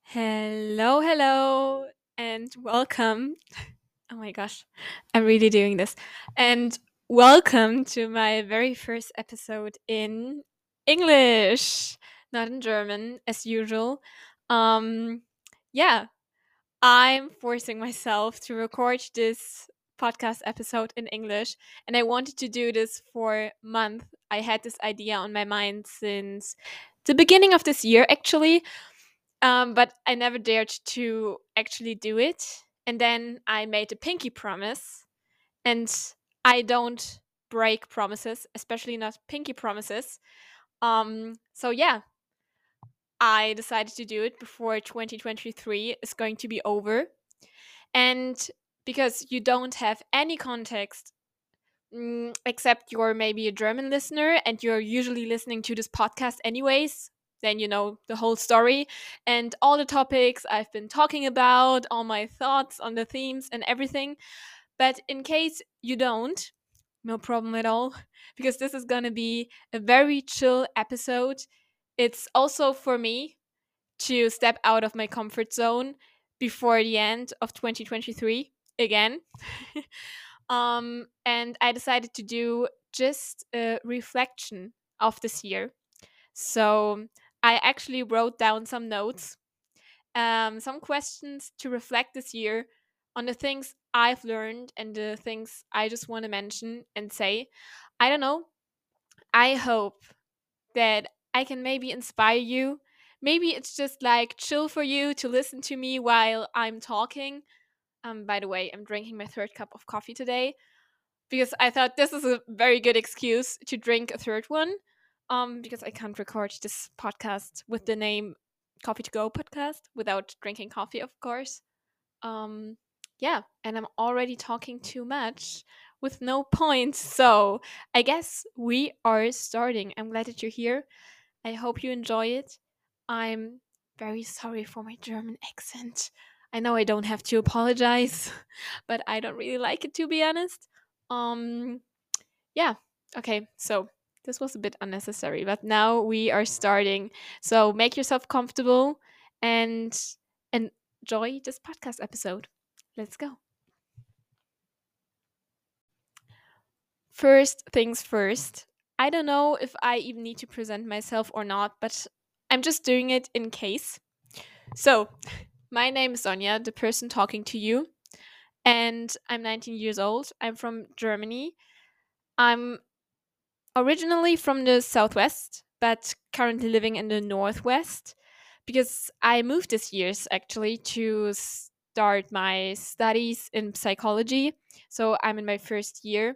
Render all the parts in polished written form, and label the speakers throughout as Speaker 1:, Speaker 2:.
Speaker 1: Hello, hello, and welcome. Oh my gosh, I'm really doing this. And welcome to my very first episode in English, not in German, as usual. Um, yeah, I'm forcing myself to record this podcast episode in English, and I wanted to do this for a month. I had this idea on my mind since the beginning of this year, actually, but I never dared to actually do it. And then I made a pinky promise, and I don't break promises, especially not pinky promises. So yeah, I decided to do it before 2023 is going to be over. And because you don't have any context, except you're maybe a German listener and you're usually listening to this podcast anyways, then you know the whole story and all the topics I've been talking about, all my thoughts on the themes and everything. But in case you don't, no problem at all, because this is going to be a very chill episode. It's also for me to step out of my comfort zone before the end of 2023 again. And I decided to do just a reflection of this year. So I actually wrote down some notes, some questions to reflect this year on the things I've learned and the things I just want to mention and say. I don't know. I hope that I can maybe inspire you. Maybe it's just like chill for you to listen to me while I'm talking. By the way, I'm drinking my third cup of coffee today because I thought this is a very good excuse to drink a third one. Because I can't record this podcast with the name Coffee to Go podcast without drinking coffee, of course. Um, yeah, and I'm already talking too much with no points. So I guess we are starting. I'm glad that you're here. I hope you enjoy it. I'm very sorry for my German accent. I know I don't have to apologize, but I don't really like it, to be honest. Um yeah. Okay. So this was a bit unnecessary, but now we are starting. So make yourself comfortable and enjoy this podcast episode. Let's go. First things first. I don't know if I even need to present myself or not, but I'm just doing it in case. So, my name is Sonja, the person talking to you, and I'm 19 years old. I'm from Germany. I'm originally from the southwest, but currently living in the northwest because I moved this year actually to start my studies in psychology. So I'm in my first year.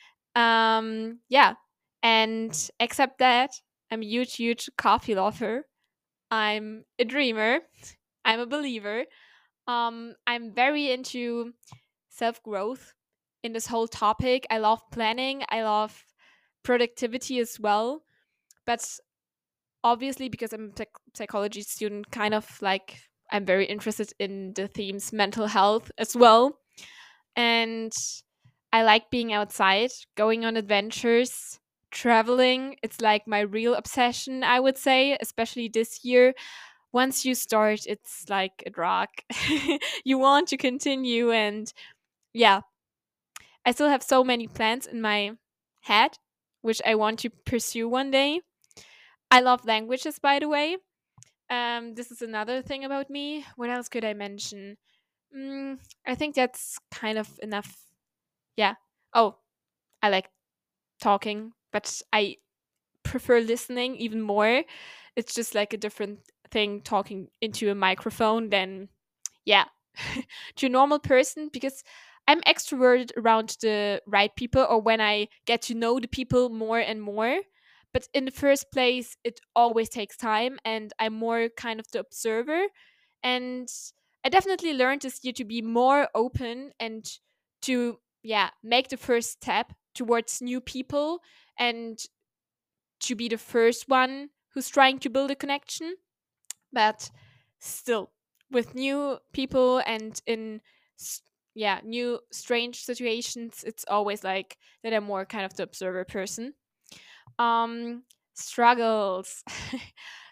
Speaker 1: Yeah. And except that, I'm a huge, huge coffee lover. I'm a dreamer. I'm a believer. I'm very into self growth in this whole topic. I love planning. I love productivity as well. But obviously, because I'm a psychology student, kind of like I'm very interested in the themes mental health as well. And I like being outside, going on adventures, traveling. It's like my real obsession, I would say, especially this year. Once you start, it's like a drug. You want to continue. And yeah, I still have so many plans in my head, which I want to pursue one day. I love languages, by the way. This is another thing about me. What else could I mention? I think that's kind of enough. Yeah. Oh, I like talking, but I prefer listening even more. It's just like a different thing talking into a microphone than, yeah, to a normal person because I'm extroverted around the right people or when I get to know the people more and more. But in the first place, it always takes time, and I'm more kind of the observer. And I definitely learned this year to be more open and to, yeah, make the first step towards new people and to be the first one who's trying to build a connection. But still, with new people and in s- yeah, new strange situations, it's always like that I'm more kind of the observer person. um Struggles.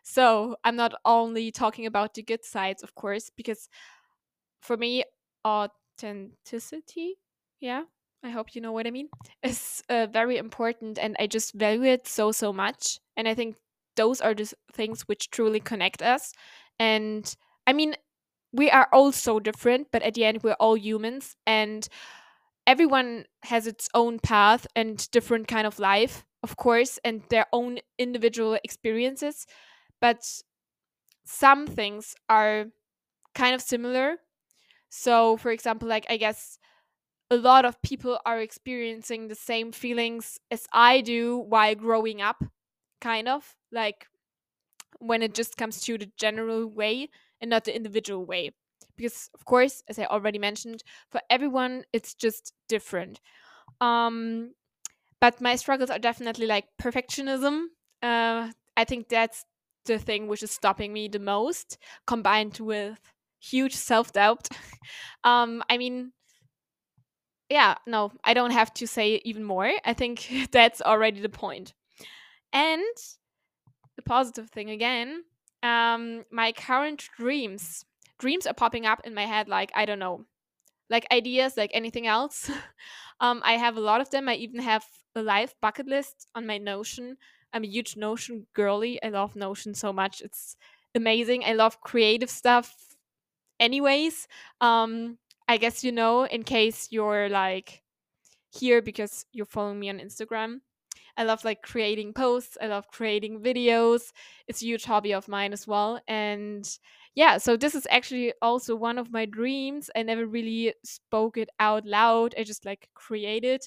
Speaker 1: So I'm not only talking about the good sides, of course, because for me, authenticity, yeah, I hope you know what I mean, is very important, and I just value it so, so much. And I think those are the things which truly connect us. And I mean, we are all so different, but at the end, we're all humans, and everyone has its own path and different kind of life, of course, and their own individual experiences. But some things are kind of similar. So, for example, like I guess a lot of people are experiencing the same feelings as I do while growing up, kind of like when it just comes to the general way and not the individual way. Because, of course, as I already mentioned, for everyone, it's just different. Um, but my struggles are definitely like perfectionism. I think that's the thing which is stopping me the most, combined with huge self doubt. I mean, yeah, no, I don't have to say even more. I think that's already the point. And the positive thing again, my current dreams are popping up in my head like, I don't know, like ideas like anything else. I have a lot of them. I even have a live bucket list on my Notion. I'm a huge Notion girly. I love Notion so much. It's amazing. I love creative stuff anyways. I guess you know, in case you're like here because you're following me on Instagram. I love like creating posts. I love creating videos. It's a huge hobby of mine as well. And yeah, so this is actually also one of my dreams. I never really spoke it out loud. I just like created.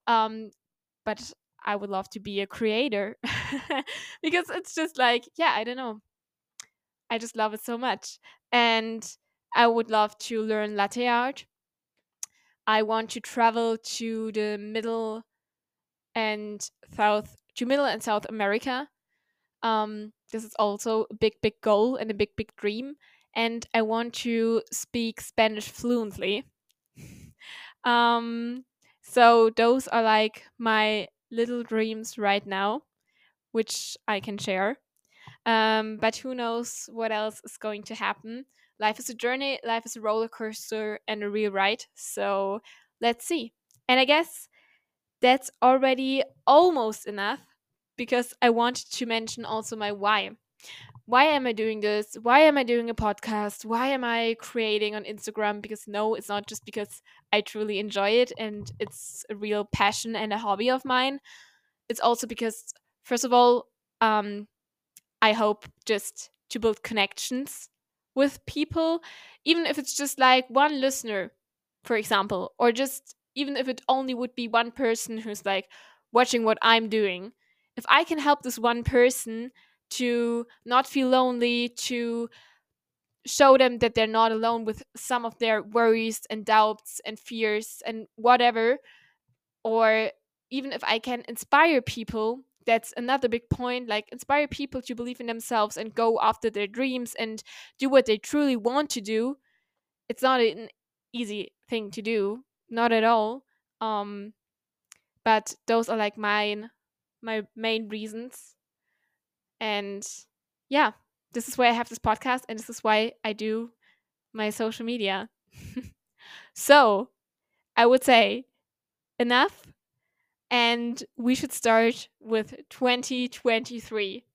Speaker 1: But I would love to be a creator because it's just like, yeah, I don't know. I just love it so much. And I would love to learn latte art. I want to travel to the Middle and South America. This is also a big, big goal and a big, big dream. And I want to speak Spanish fluently. um, so those are like my little dreams right now, which I can share. But who knows what else is going to happen? Life is a journey, life is a roller coaster and a real ride. So let's see. And I guess that's already almost enough because I wanted to mention also my why. Why am I doing this? Why am I doing a podcast? Why am I creating on Instagram? Because no, it's not just because I truly enjoy it and it's a real passion and a hobby of mine. It's also because, first of all, um, I hope just to build connections with people, even if it's just like one listener, for example, or just even if it only would be one person who's like watching what I'm doing. If I can help this one person to not feel lonely, to show them that they're not alone with some of their worries and doubts and fears and whatever, or even if I can inspire people, that's another big point, like inspire people to believe in themselves and go after their dreams and do what they truly want to do. It's not an easy thing to do, not at all. um but those are like my main reasons. And yeah, this is why I have this podcast and this is why I do my social media. So I would say enough, and we should start with 2023.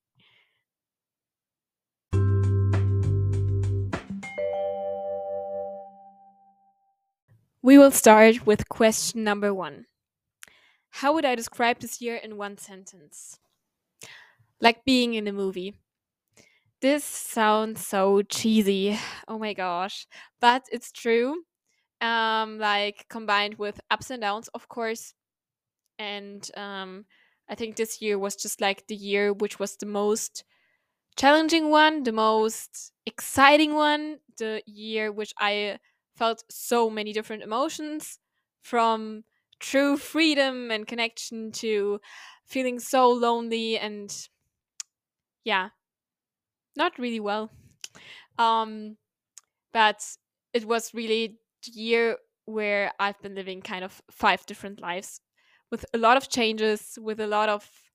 Speaker 1: We will start with question number one. How would I describe this year in one sentence? Like being in a movie. This sounds so cheesy. Oh my gosh. But it's true. Like combined with ups and downs, of course. And I think this year was just like the year which was the most challenging one, the most exciting one, the year which I felt so many different emotions, from true freedom and connection to feeling so lonely and yeah, not really well. Um but it was really the year where I've been living kind of five different lives with a lot of changes, with a lot of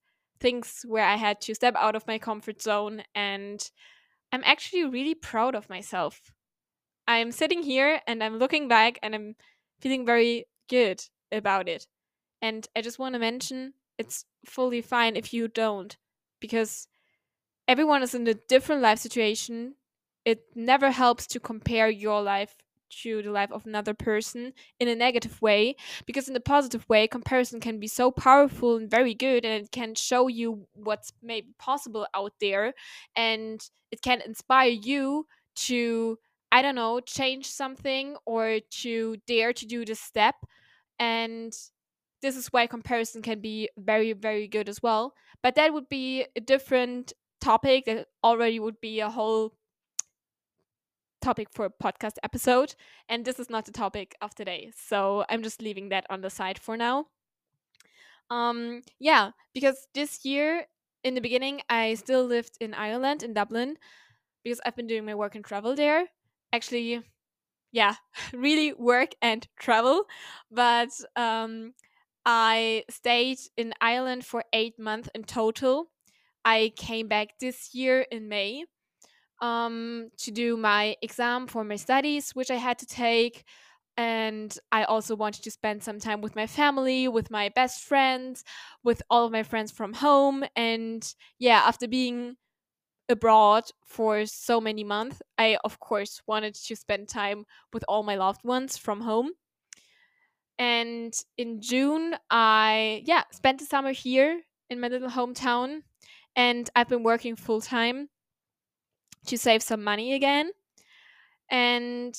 Speaker 1: things where I had to step out of my comfort zone, and I'm actually really proud of myself. I'm sitting here and I'm looking back and I'm feeling very good about it. And I just want to mention it's fully fine if you don't, because everyone is in a different life situation. It never helps to compare your life to the life of another person in a negative way, because in a positive way, comparison can be so powerful and very good, and it can show you what's maybe possible out there, and it can inspire you to, I don't know, change something or to dare to do the step. And this is why comparison can be very, very good as well. But that would be a different topic. That already would be a whole topic for a podcast episode. And this is not the topic of today. So I'm just leaving that on the side for now. Yeah, because this year in the beginning, I still lived in Ireland, in Dublin, because I've been doing my work and travel there. Actually, yeah, really work and travel. But I stayed in Ireland for 8 months in total. I came back this year in May to do my exam for my studies, which I had to take. And I also wanted to spend some time with my family, with my best friends, with all of my friends from home. And yeah, after being abroad for so many months, I of course wanted to spend time with all my loved ones from home. And in June, I spent the summer here in my little hometown, and I've been working full time to save some money again. And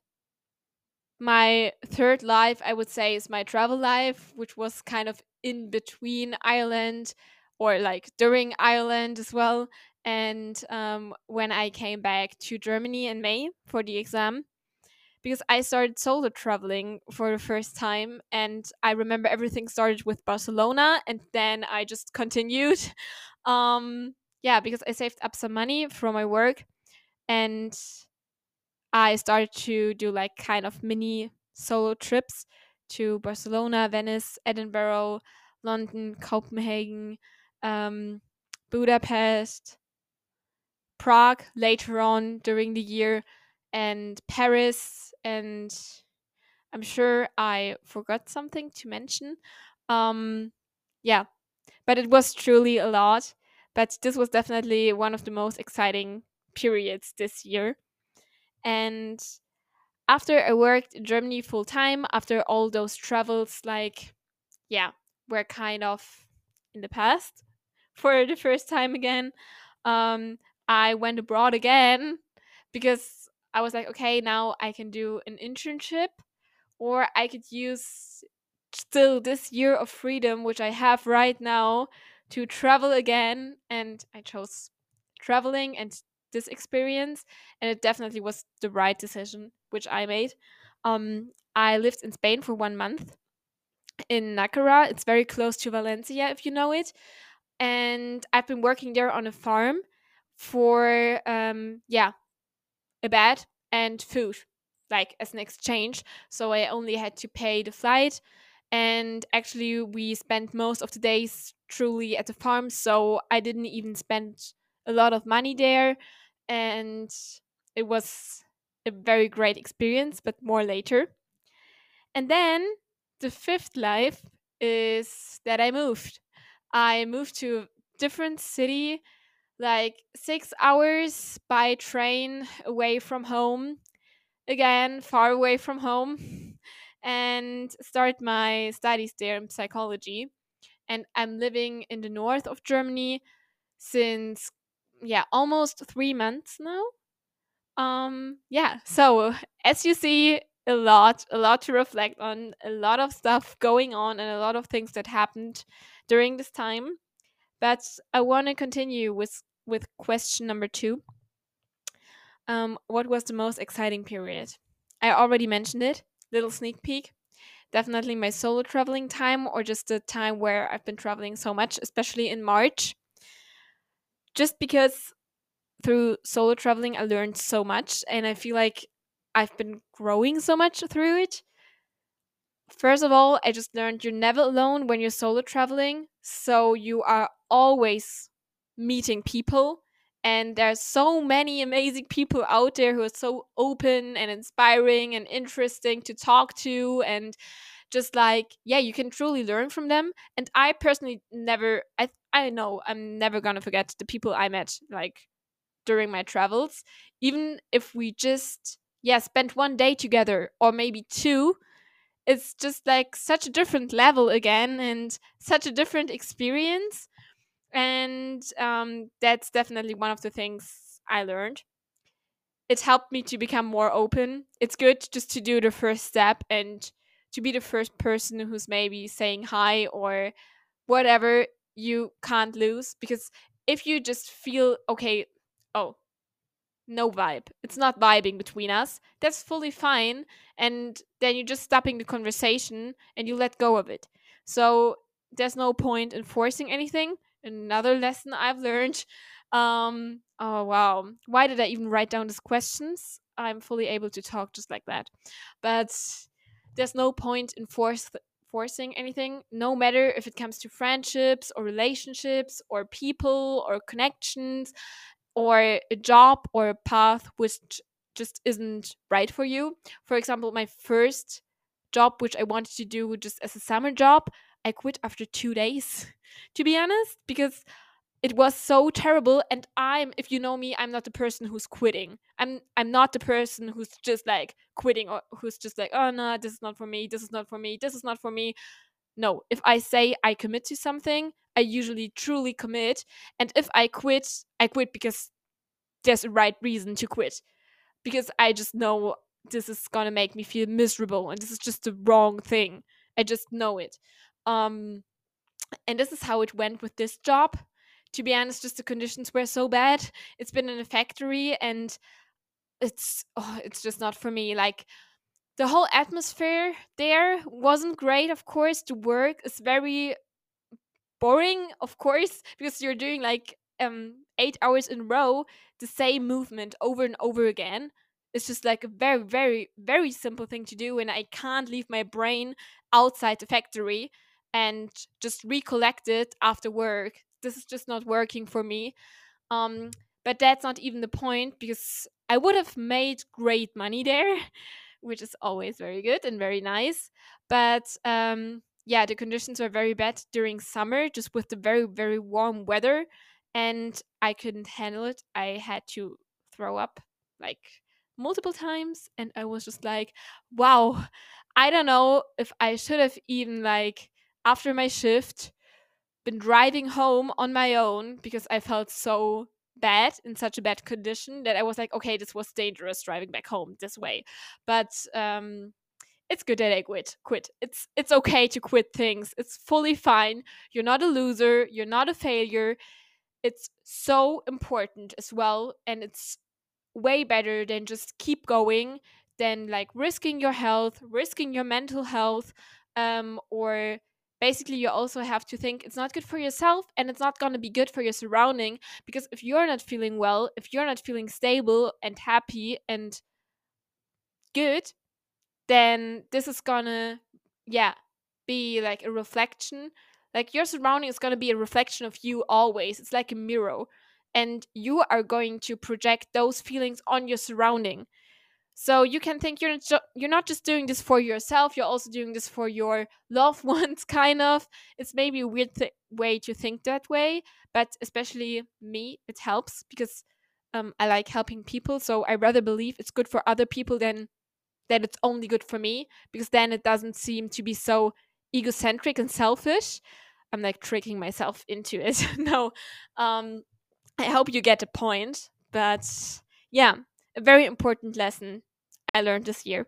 Speaker 1: my third life, I would say, is my travel life, which was kind of in between Ireland, or like during Ireland as well. And when I came back to Germany in May for the exam, because I started solo traveling for the first time. And I remember everything started with Barcelona, and then I just continued. Yeah, because I saved up some money from my work, and I started to do like kind of mini solo trips to Barcelona, Venice, Edinburgh, London, Copenhagen, um, Budapest, Prague later on during the year, and Paris. And I'm sure I forgot something to mention. Um, yeah, but it was truly a lot. But this was definitely one of the most exciting periods this year. And after I worked in Germany full time, after all those travels, like, yeah, were kind of in the past for the first time again, um, I went abroad again because I was like, okay, now I can do an internship, or I could use still this year of freedom, which I have right now, to travel again. And I chose traveling and this experience, and it definitely was the right decision, which I made. I lived in Spain for 1 month in Nacara. It's very close to Valencia, if you know it. And I've been working there on a farm for a bed and food, like as an exchange. So I only had to pay the flight. And actually, we spent most of the days truly at the farm. So I didn't even spend a lot of money there. And it was a very great experience, but more later. And then the fifth life is that I moved. I moved to a different city, like 6 hours by train away from home, again far away from home, and start my studies there in psychology. And I'm living in the north of Germany since almost 3 months now. So as you see, a lot to reflect on, a lot of stuff going on, and a lot of things that happened during this time. But I want to continue with question number 2. What was the most exciting period? I already mentioned it. Little sneak peek. Definitely my solo traveling time, or just the time where I've been traveling so much, especially in March. Just because through solo traveling, I learned so much, and I feel like I've been growing so much through it. First of all, I just learned you're never alone when you're solo traveling. So you are always meeting people. And there's so many amazing people out there who are so open and inspiring and interesting to talk to. And just like, yeah, you can truly learn from them. And I personally never, I know I'm never going to forget the people I met, like during my travels. Even if we just, yeah, spent one day together or maybe two, it's just like such a different level again and such a different experience. And that's definitely one of the things I learned. It helped me to become more open. It's good just to do the first step and to be the first person who's maybe saying hi or whatever. You can't lose, because if you just feel okay, oh, no vibe. It's not vibing between us. That's fully fine. And then you're just stopping the conversation and you let go of it. So there's no point in forcing anything. Another lesson I've learned. Oh wow. Why did I even write down these questions? I'm fully able to talk just like that. But there's no point in forcing anything, no matter if it comes to friendships or relationships or people or connections or a job or a path which just isn't right for you. For example, my first job, which I wanted to do just as a summer job, I quit after 2 days, to be honest, because it was so terrible. And if you know me, I'm not the person who's quitting. I'm not the person who's just like quitting or who's just like, oh no, this is not for me, this is not for me, this is not for me. No, if I say I commit to something, I usually truly commit. And if I quit because there's a right reason to quit, because I just know this is gonna make me feel miserable and this is just the wrong thing. I just know it. Um, and this is how it went with this job. To be honest, just the conditions were so bad. It's been in a factory and it's just not for me. Like the whole atmosphere there wasn't great, of course. The work is very boring, of course, because you're doing like 8 hours in a row the same movement over and over again. It's just like a very, very, very simple thing to do, and I can't leave my brain outside the factory and just recollect it after work. This is just not working for me. Um, but that's not even the point, because I would have made great money there, which is always very good and very nice. But yeah, the conditions were very bad during summer, just with the very, very warm weather, and I couldn't handle it. I had to throw up like multiple times, and I was just like, wow, I don't know if I should have even like after my shift been driving home on my own, because I felt so bad, in such a bad condition, that I was like, okay, this was dangerous driving back home this way. But it's good that I quit. It's okay to quit things. It's fully fine. You're not a loser, you're not a failure. It's so important as well, and it's way better than just keep going, than like risking your health, risking your mental health, or basically you also have to think it's not good for yourself and it's not going to be good for your surrounding, because if you're not feeling well, if you're not feeling stable and happy and good, then this is gonna, yeah, be like a reflection. Like your surrounding is gonna be a reflection of you always. It's like a mirror. And you are going to project those feelings on your surrounding. So you can think you're not just doing this for yourself, you're also doing this for your loved ones, kind of. It's maybe a weird way to think that way, but especially me, it helps because I like helping people. So I rather believe it's good for other people than that it's only good for me, because then it doesn't seem to be so egocentric and selfish. I'm like tricking myself into it. No, um, I hope you get the point. But yeah, a very important lesson I learned this year.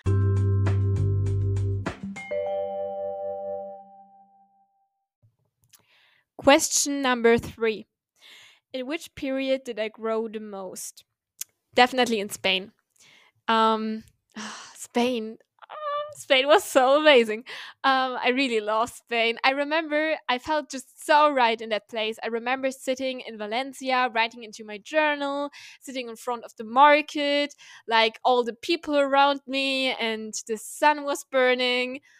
Speaker 1: Question number 3. In which period did I grow the most? Definitely in Spain. Um, Spain. Spain was so amazing. I really love Spain. I remember I felt just so right in that place. I remember sitting in Valencia, writing into my journal, sitting in front of the market, like all the people around me, and the sun was burning.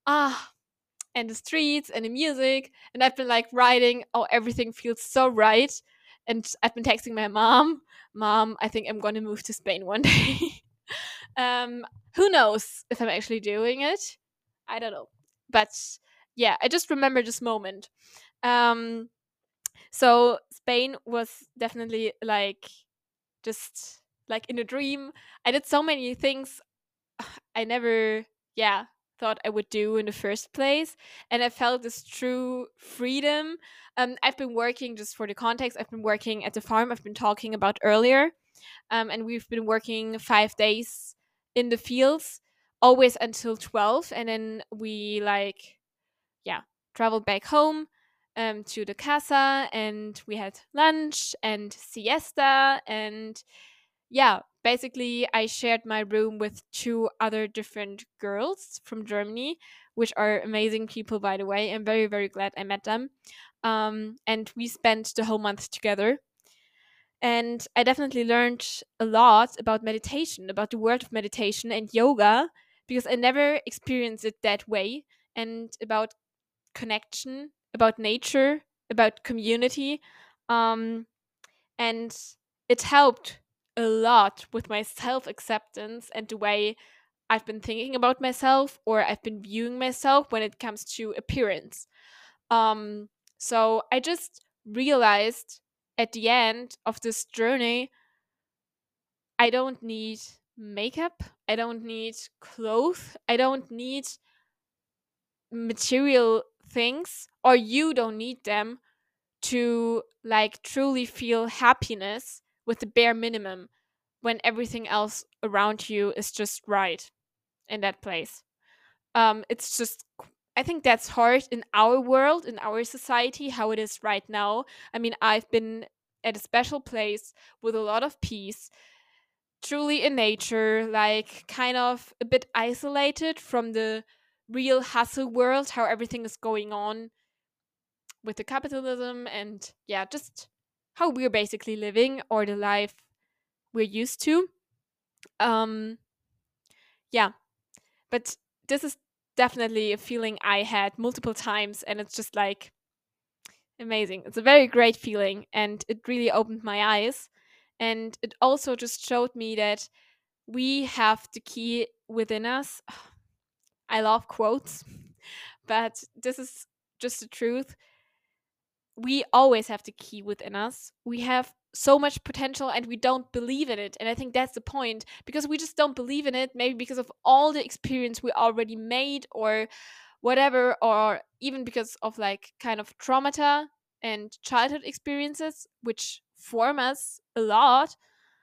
Speaker 1: Ah, and the streets and the music. And I've been like writing, oh, everything feels so right. And I've been texting my mom, I think I'm going to move to Spain one day. um, who knows if I'm actually doing it? I don't know. But yeah, I just remember this moment. Um, so Spain was definitely like just like in a dream. I did so many things I never, yeah, thought I would do in the first place. And I felt this true freedom. I've been working, just for the context, I've been working at the farm I've been talking about earlier. And we've been working 5 days in the fields, always until 12. And then we, like, yeah, traveled back home to the casa, and we had lunch and siesta. And yeah, basically, I shared my room with two other different girls from Germany, which are amazing people, by the way. I'm very, very glad I met them. And we spent the whole month together. And I definitely learned a lot about meditation, about the world of meditation and yoga, because I never experienced it that way, and about connection, about nature, about community. Um, and it helped a lot with my self acceptance and the way I've been thinking about myself, or I've been viewing myself when it comes to appearance. Um, so I just realized at the end of this journey, I don't need makeup, I don't need clothes, I don't need material things, or you don't need them to like truly feel happiness with the bare minimum when everything else around you is just right in that place. It's just, I think that's hard in our world, in our society, how it is right now. I mean, I've been at a special place with a lot of peace, truly in nature, like kind of a bit isolated from the real hustle world, how everything is going on with the capitalism, and yeah, just how we're basically living, or the life we're used to. Um, yeah, but this is definitely a feeling I had multiple times, and it's just like amazing. It's a very great feeling, and it really opened my eyes. And it also just showed me that we have the key within us. I love quotes, but this is just the truth. We always have the key within us. We have so much potential and we don't believe in it. And I think that's the point, because we just don't believe in it, maybe because of all the experience we already made or whatever, or even because of like kind of traumata and childhood experiences, which form us a lot.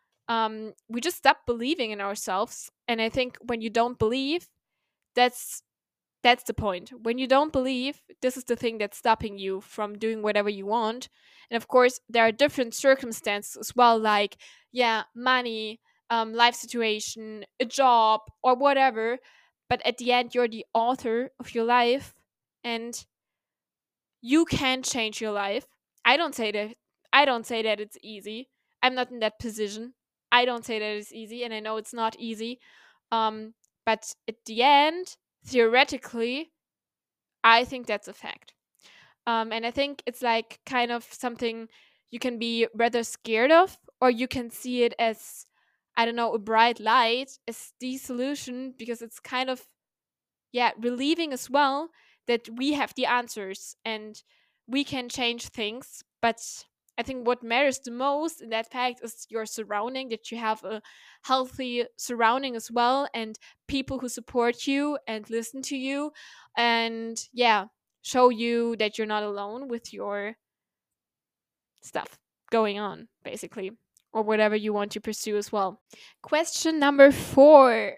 Speaker 1: We just stop believing in ourselves. And I think when you don't believe, that's that's the point. When you don't believe, this is the thing that's stopping you from doing whatever you want. And of course, there are different circumstances as well, like, yeah, money, life situation, a job, or whatever. But at the end, you're the author of your life, and you can change your life. I don't say that. I don't say that it's easy. I'm not in that position. I don't say that it's easy, and I know it's not easy. Um, but at the end, theoretically, I think that's a fact. And I think it's like kind of something you can be rather scared of, or you can see it as, I don't know, a bright light, as the solution, because it's kind of, yeah, relieving as well that we have the answers and we can change things. But I think what matters the most in that fact is your surrounding, that you have a healthy surrounding as well, and people who support you and listen to you, and yeah, show you that you're not alone with your stuff going on, basically, or whatever you want to pursue as well. Question number 4.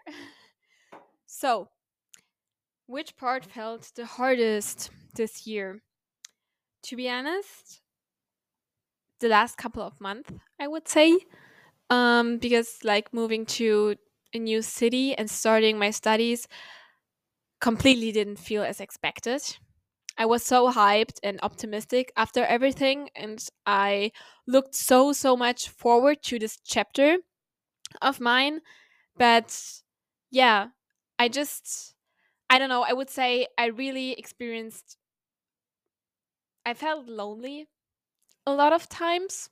Speaker 1: So, which part felt the hardest this year? To be honest, the last couple of months, I would say. Because like moving to a new city and starting my studies completely didn't feel as expected. I was so hyped and optimistic after everything, and I looked so much forward to this chapter of mine. But yeah, I just I don't know, I would say I really experienced, I felt lonely a lot of times,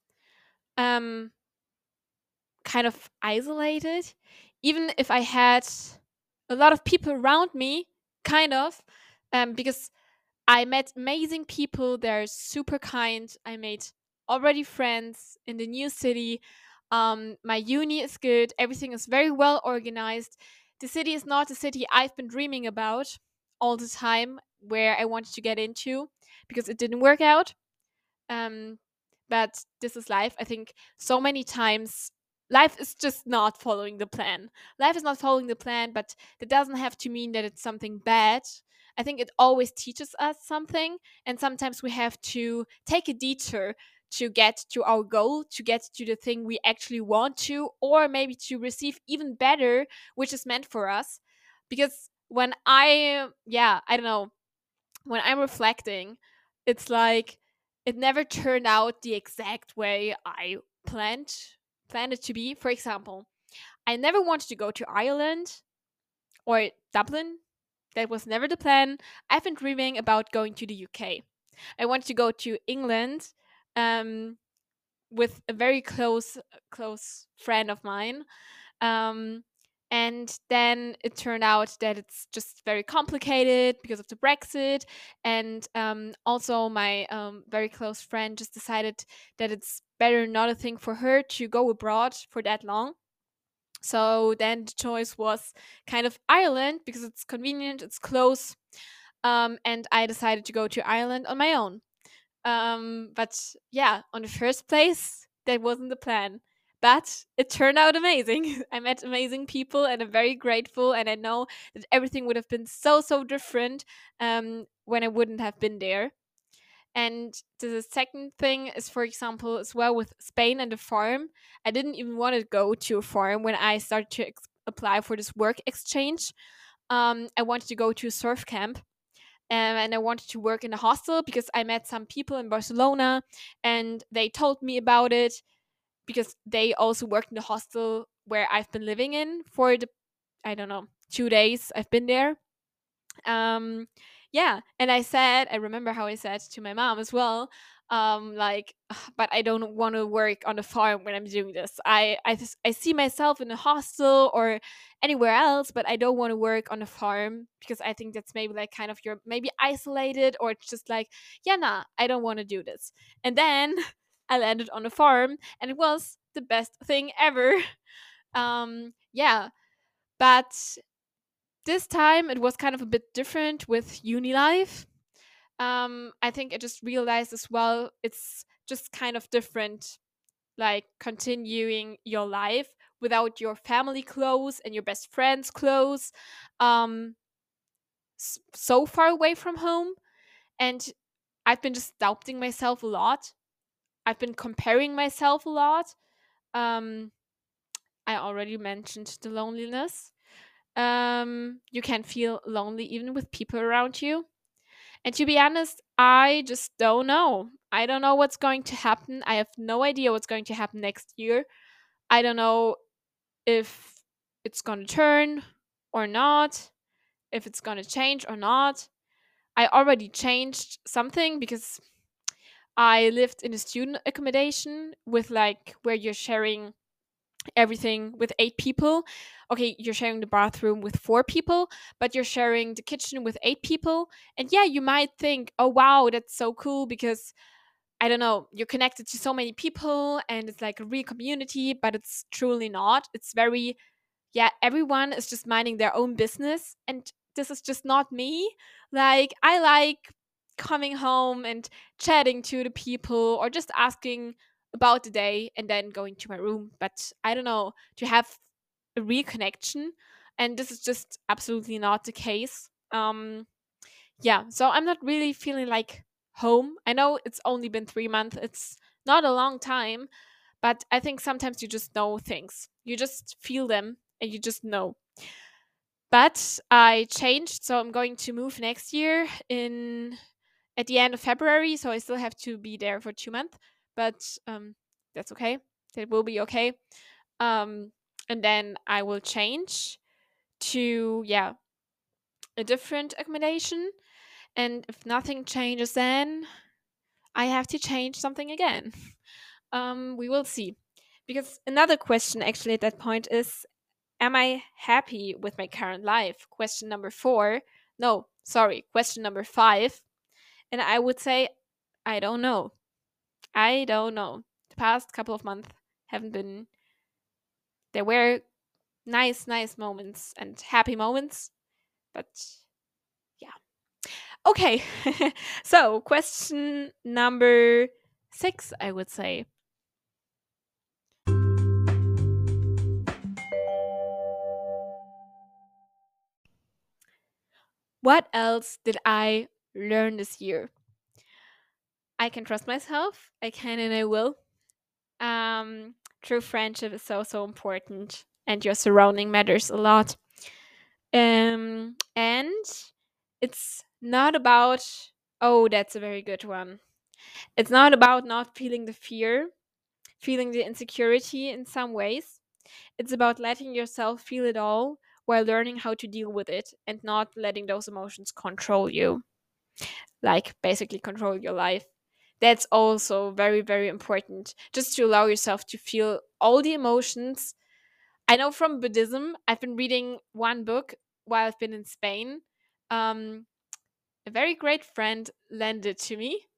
Speaker 1: um, kind of isolated, even if I had a lot of people around me, kind of, because I met amazing people. They're super kind. I made already friends in the new city. My uni is good. Everything is very well organized. The city is not the city I've been dreaming about all the time, where I wanted to get into because it didn't work out. Um, but this is life. I think so many times life is just not following the plan. Life is not following the plan, but that doesn't have to mean that it's something bad. I think it always teaches us something, and sometimes we have to take a detour to get to our goal, to get to the thing we actually want to, or maybe to receive even better, which is meant for us. Because when I don't know, when I'm reflecting, it's like it never turned out the exact way I planned it to be. For example, I never wanted to go to Ireland or Dublin. That was never the plan. I've been dreaming about going to the UK. I wanted to go to England, um, with a very close friend of mine, um, and then it turned out that it's just very complicated because of the Brexit. And also, my very close friend just decided that it's better not a thing for her to go abroad for that long. So then the choice was kind of Ireland because it's convenient, it's close. And I decided to go to Ireland on my own. But yeah, on the first place, that wasn't the plan. But it turned out amazing. I met amazing people and I'm very grateful. And I know that everything would have been so different when I wouldn't have been there. And the second thing is, for example, as well with Spain and the farm. I didn't even want to go to a farm when I started to apply for this work exchange. I wanted to go to a surf camp, and I wanted to work in a hostel because I met some people in Barcelona and they told me about it because they also worked in the hostel where I've been living in for the, I don't know, 2 days I've been there. um yeah, and I remember how I said to my mom as well, like, "Ugh, but I don't want to work on a farm when I'm doing this. I see myself in a hostel or anywhere else, but I don't want to work on a farm because I think that's maybe like kind of, you're maybe isolated, or it's just like, yeah, nah, I don't want to do this." And then I landed on a farm and it was the best thing ever. Yeah, but this time it was kind of a bit different with uni life. I think I just realized as well, it's just kind of different, like continuing your life without your family close and your best friends close, um, so far away from home. And I've been just doubting myself a lot. I've been comparing myself a lot. Um, I already mentioned the loneliness. You can feel lonely even with people around you. And to be honest, I just don't know. I don't know what's going to happen. I have no idea what's going to happen next year. I don't know if it's going to turn or not, if it's going to change or not. I already changed something because I lived in a student accommodation with, like, where you're sharing everything with 8 people. Okay, you're sharing the bathroom with 4 people, but you're sharing the kitchen with 8 people. And yeah, you might think, oh wow, that's so cool because, I don't know, you're connected to so many people and it's like a real community, but it's truly not. It's very, yeah, everyone is just minding their own business. And this is just not me. Like, I like coming home and chatting to the people or just asking about the day and then going to my room. But I don't know, to have a real connection. And this is just absolutely not the case. Yeah, so I'm not really feeling like home. I know it's only been 3 months, it's not a long time, but I think sometimes you just know things. You just feel them and you just know. But I changed, so I'm going to move next year in at the end of February, so I still have to be there for 2 months, but that's okay. That will be okay. Um, and then I will change to, yeah, a different accommodation. And if nothing changes, then I have to change something again. We will see. Because another question actually at that point is, am I happy with my current life? Question number four. No, sorry, question number five. And I would say, I don't know. I don't know. The past couple of months haven't been, there were nice moments and happy moments, but yeah. Okay. So, question number six, I would say. What else did I learn this year? I can trust myself. I can and I will. True friendship is so important, and your surrounding matters a lot. And it's not about, oh, that's a very good one. It's not about not feeling the fear, feeling the insecurity in some ways. It's about letting yourself feel it all while learning how to deal with it and not letting those emotions control you, like basically control your life. That's also very important. Just to allow yourself to feel all the emotions. I know from Buddhism, I've been reading one book while I've been in Spain. Um, a very great friend lent it to me,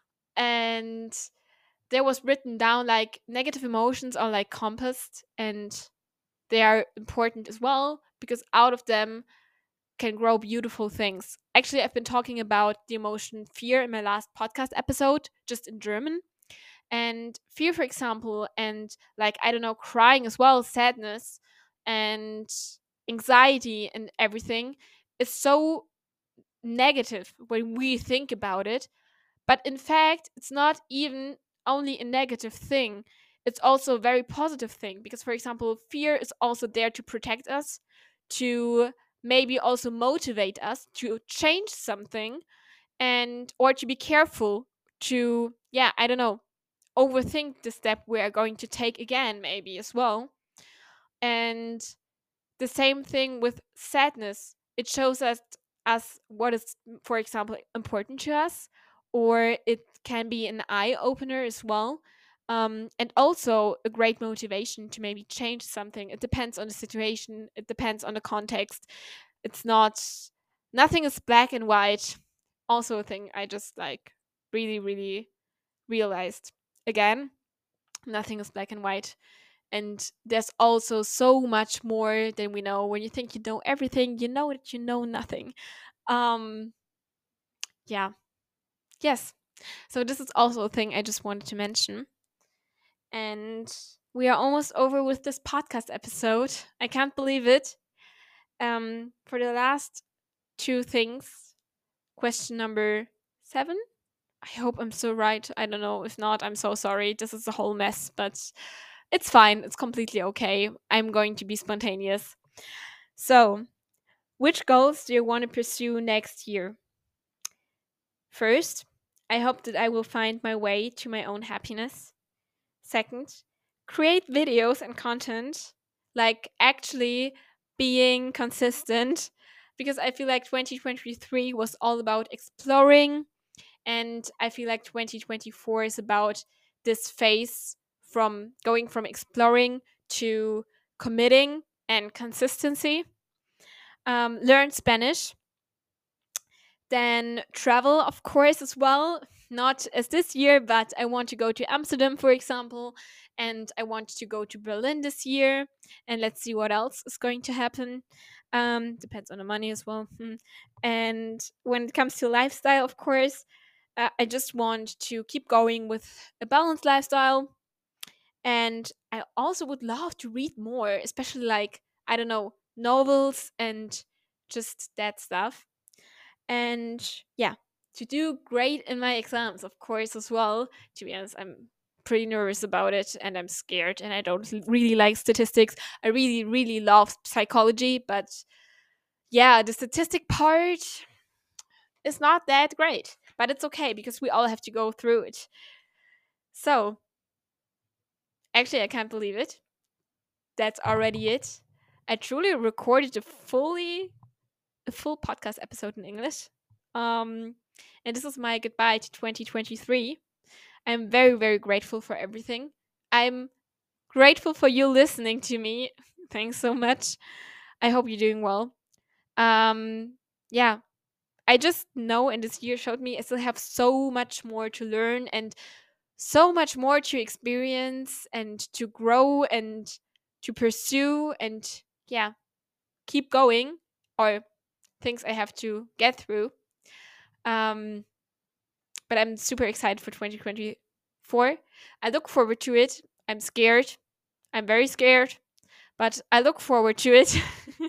Speaker 1: and there was written down like negative emotions are like compass, and they are important as well because out of them can grow beautiful things. Actually, I've been talking about the emotion fear in my last podcast episode, just in German. And fear, for example, and like, I don't know, crying as well, sadness and anxiety and everything is so negative when we think about it. But in fact, it's not even only a negative thing, it's also a very positive thing because, for example, fear is also there to protect us, to maybe also motivate us to change something and or to be careful to, yeah, I don't know, overthink the step we are going to take again, maybe as well. And the same thing with sadness. It shows us what is, for example, important to us, or it can be an eye opener as well. And also a great motivation to maybe change something. It depends on the situation, it depends on the context. It's not, nothing is black and white. Also, a thing I just like really realized again, nothing is black and white. And there's also so much more than we know. When you think you know everything, you know that you know nothing. Um, yeah. Yes. So this is also a thing I just wanted to mention. And we are almost over with this podcast episode. I can't believe it. For the last two things, question number seven. I hope I'm so right. I don't know. If not, I'm so sorry. This is a whole mess, but it's fine. It's completely okay. I'm going to be spontaneous. So, which goals do you want to pursue next year? First, I hope that I will find my way to my own happiness. Second, create videos and content, like actually being consistent, because I feel like 2023 was all about exploring, and I feel like 2024 is about this phase from going from exploring to committing and consistency. Learn Spanish, then travel, of course, as well. Not as this year, but I want to go to Amsterdam, for example, and I want to go to Berlin this year. And let's see what else is going to happen. Depends on the money as well. And when it comes to lifestyle, of course, I just want to keep going with a balanced lifestyle. And I also would love to read more, especially like, I don't know, novels and just that stuff. And yeah, to do great in my exams, of course, as well. To be honest, I'm pretty nervous about it and I'm scared and I don't really like statistics. I really love psychology, but yeah, the statistic part is not that great, but it's okay because we all have to go through it. So, actually, I can't believe it. That's already it. I truly recorded a fully a full podcast episode in English. And this is my goodbye to 2023. I'm very, very grateful for everything. I'm grateful for you listening to me. Thanks so much. I hope you're doing well. Yeah, I just know, and this year showed me I still have so much more to learn and so much more to experience and to grow and to pursue and yeah, keep going, or things I have to get through. Um, but I'm super excited for 2024. I look forward to it. I'm scared. I'm very scared, but I look forward to it.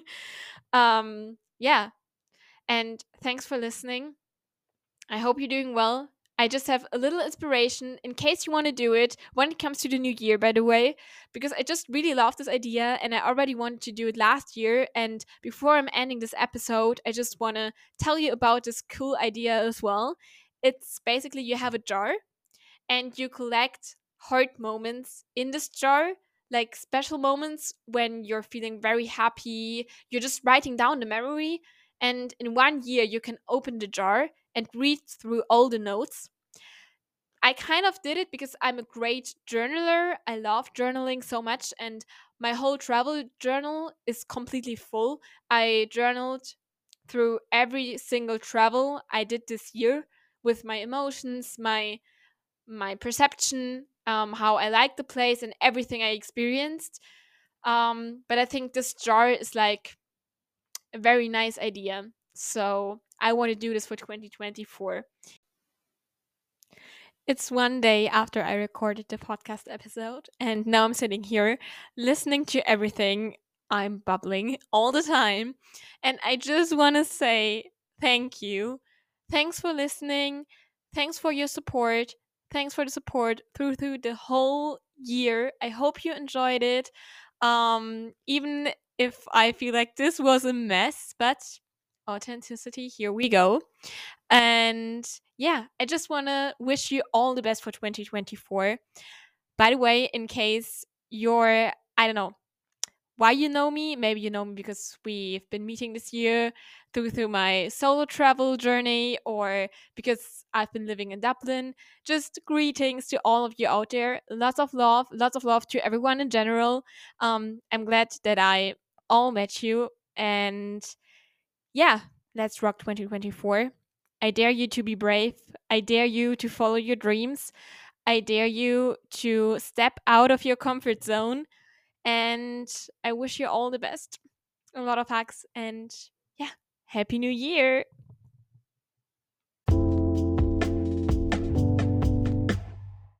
Speaker 1: Yeah, and thanks for listening. I hope you're doing well. I just have a little inspiration in case you want to do it when it comes to the new year, by the way, because I just really love this idea and I already wanted to do it last year. And before I'm ending this episode, I just want to tell you about this cool idea as well. It's basically you have a jar and you collect heart moments in this jar, like special moments when you're feeling very happy. You're just writing down the memory, and in 1 year, you can open the jar and read through all the notes. I kind of did it because I'm a great journaler. I love journaling so much, and my whole travel journal is completely full. I journaled through every single travel I did this year with my emotions, my perception, how I like the place, and everything I experienced. But I think this jar is like a very nice idea. So I want to do this for 2024. It's one day after I recorded the podcast episode, and now I'm sitting here listening to everything. I'm bubbling all the time. And I just want to say thank you. Thanks for listening. Thanks for your support. Thanks for the support through the whole year. I hope you enjoyed it. Even if I feel like this was a mess, but authenticity, here we go. And yeah, I just want to wish you all the best for 2024. By the way, in case you're, I don't know why you know me, maybe you know me because we've been meeting this year through my solo travel journey, or because I've been living in Dublin. Just greetings to all of you out there. Lots of love to everyone in general. I'm glad that I all met you, and yeah, let's rock 2024. I dare you to be brave. I dare you to follow your dreams. I dare you to step out of your comfort zone. And I wish you all the best. A lot of hugs and yeah, Happy New Year.